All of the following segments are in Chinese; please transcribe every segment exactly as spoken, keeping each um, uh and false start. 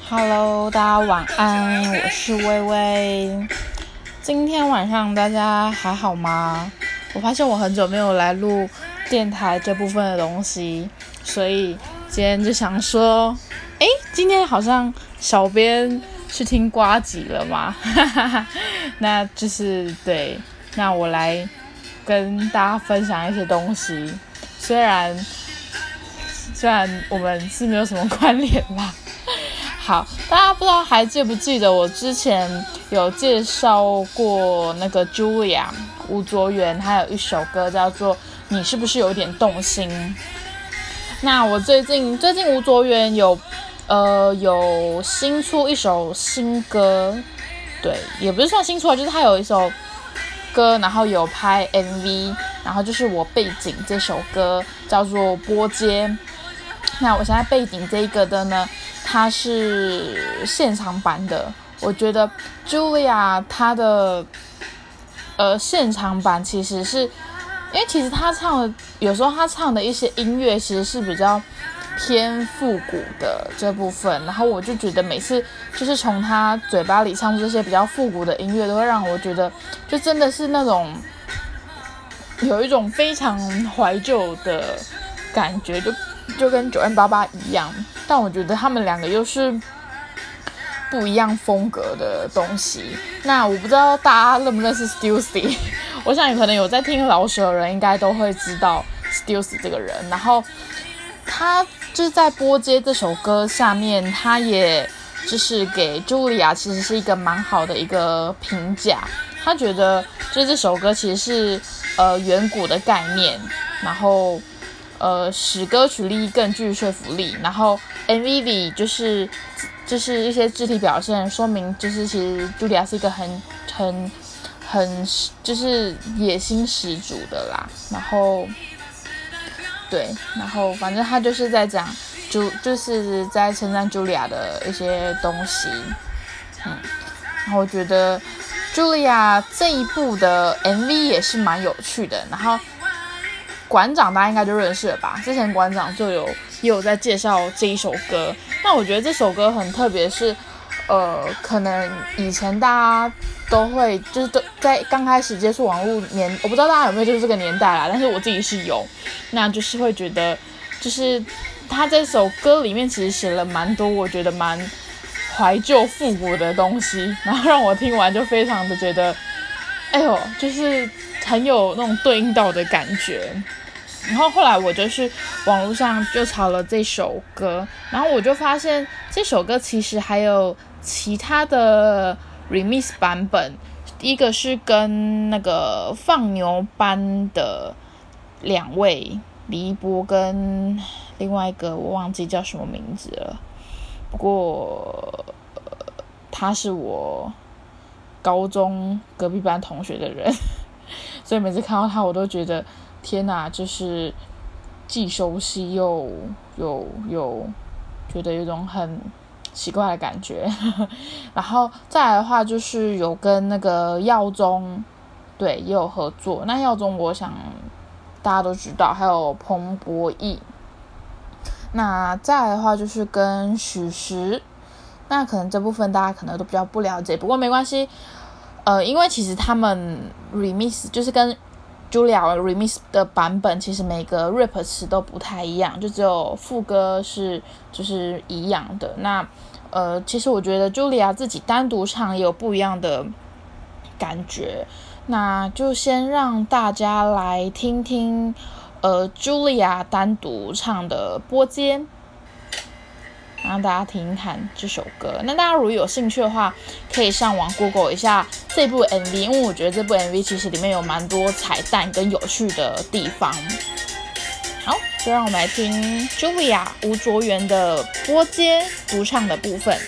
Hello，大家晚安，我是薇薇。今天晚上大家还好吗？我发现我很久没有来录电台这部分的东西，所以今天就想说，诶，今天好像小编去听呱吉了嘛，那就是对，那我来跟大家分享一些东西，虽然虽然我们是没有什么关联啦。好，大家不知道还记不记得我之前有介绍过那个 Julia 吴卓源，还有一首歌叫做《你是不是有点动心》。那我最近最近吴卓源有呃有新出一首新歌，对，也不是算新出啊，就是他有一首歌，然后有拍 M V， 然后就是我背景这首歌叫做《波街》。那我现在背景这一个的呢，它是现场版的。我觉得 Julia 她的呃现场版其实是，因为其实她唱的有时候她唱的一些音乐其实是比较偏复古的这部分，然后我就觉得每次就是从她嘴巴里唱出这些比较复古的音乐，都会让我觉得就真的是那种有一种非常怀旧的感觉，就就跟九零八八一样，但我觉得他们两个又是不一样风格的东西。那我不知道大家认不认识 Stussy， 我想你可能有在听老舍的人应该都会知道 Stussy 这个人。然后他就是在《波街》这首歌下面，他也就是给 Julia 其实是一个蛮好的一个评价。他觉得就是这首歌其实是呃远古的概念，然后呃，使歌曲力更具说服力，然后 M V 里就是就是一些肢体表现，说明就是其实茱莉亚是一个很很很就是野心十足的啦。然后对，然后反正他就是在讲，就就是在称赞茱莉亚的一些东西，嗯，然后我觉得茱莉亚这一部的 M V 也是蛮有趣的，然后。馆长大家应该就认识了吧？之前馆长就有也有在介绍这一首歌。那我觉得这首歌很特别是，呃，可能以前大家都会就是都在刚开始接触网络年，我不知道大家有没有就是这个年代啦，但是我自己是有，那就是会觉得，就是他这首歌里面其实写了蛮多我觉得蛮怀旧复古的东西，然后让我听完就非常的觉得，哎呦，就是很有那种对应到的感觉。然后后来我就去网络上就查了这首歌，然后我就发现这首歌其实还有其他的 remix 版本，一个是跟那个放牛班的两位李一波跟另外一个我忘记叫什么名字了，不过、呃、他是我高中隔壁班同学的人，所以每次看到他我都觉得天哪，就是既熟悉又又又觉得有种很奇怪的感觉。然后再来的话，就是有跟那个耀宗，对，也有合作。那耀宗我想大家都知道，还有彭博义。那再来的话就是跟许石，那可能这部分大家可能都比较不了解，不过没关系。呃，因为其实他们 remix 就是跟Julia remix 的版本，其实每个 rap 词都不太一样，就只有副歌是就是一样的。那呃，其实我觉得 Julia 自己单独唱也有不一样的感觉。那就先让大家来听听呃 Julia 单独唱的《波街》，让大家听听看这首歌。那大家如果有兴趣的话，可以上网 Google 一下这部 M V， 因为我觉得这部 M V 其实里面有蛮多彩蛋跟有趣的地方。好，就让我们来听 Julia 吴卓源的《波街》独唱的部分。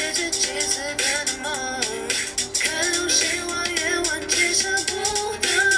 看流星花月晚，接舍不得。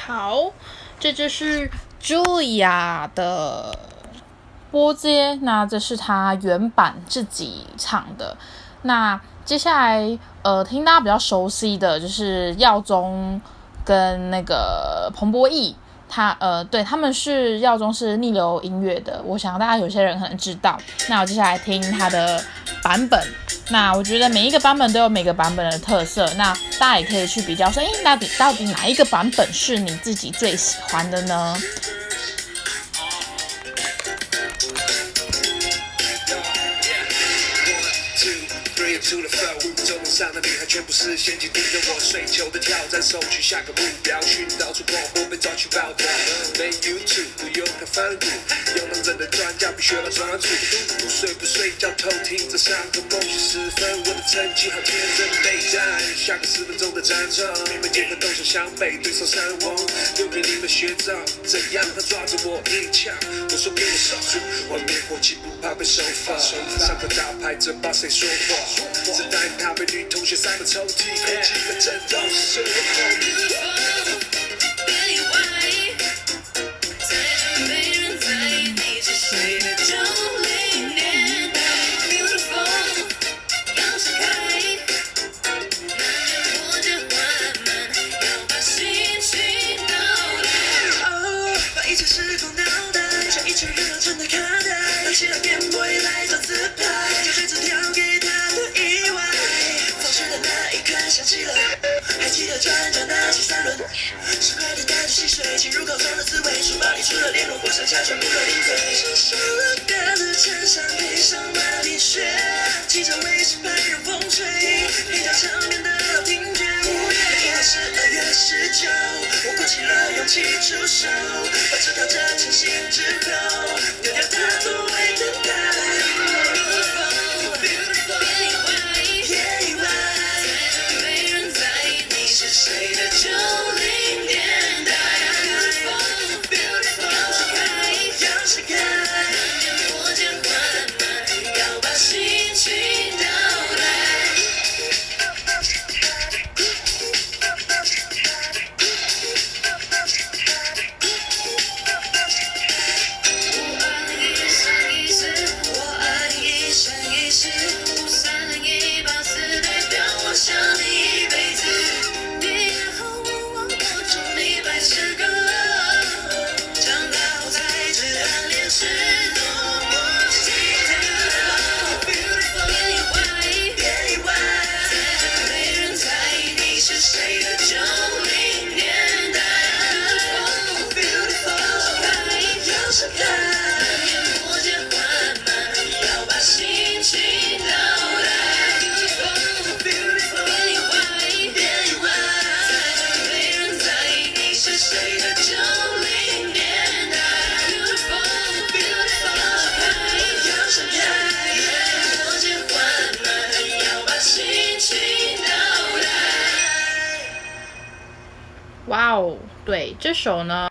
好，这就是 Julia 的波接，那这是她原版自己唱的。那接下来呃，听大家比较熟悉的就是耀宗跟那个彭博义，他呃，对，他们是耀宗是逆流音乐的，我想大家有些人可能知道。那我接下来听他的版本，那我觉得每一个版本都有每个版本的特色，那大家也可以去比较说，哎，到底到底哪一个版本是你自己最喜欢的呢？ 出了flow，走廊上的女孩全部是陷阱，盯着我睡球的挑战，搜取下个目标，寻找出光波，被抓去报道。没 YouTube， 不用看翻滚，有能真的专家必须把专注。不睡不睡觉，偷听着上课梦醒时分，我的成绩好天真备战。下个十分钟的战场，每门节课都想向北，对手山王，留给你们学长，怎样他抓着我一枪，我说给我守住，外面火气不怕被收发，上课打牌这把谁说话？只待他被女同学塞满抽屉，空气在震动，是我后面。别意外，再也没人在意你是谁的九零年代 ，beautiful， 要闪开，男人活着缓慢，要把心情倒带。哦，把一切失控脑袋，像一群人都正在看待，拿起了电波也来做自拍，就这次调给他。想起了，还记得转转那些三轮，是快点带着溪水进入口中的滋味，书包里除了联络簿剩下全部都零嘴。穿上了格子衬衫，配上马蹄靴，骑着卫士牌让风吹，配套场面的老听觉。五月一号是二月十九，我鼓起了勇气出手，把这条这成型之后，丢掉它作为等待。谁的九零年代 ，beautiful beautiful， 要闪开，要闪开，难点破茧缓慢，要把心情倒带。五二零一三一四，我爱你一生一世，五三零一八四，代表我想你一辈子。 哇哦，对，这首呢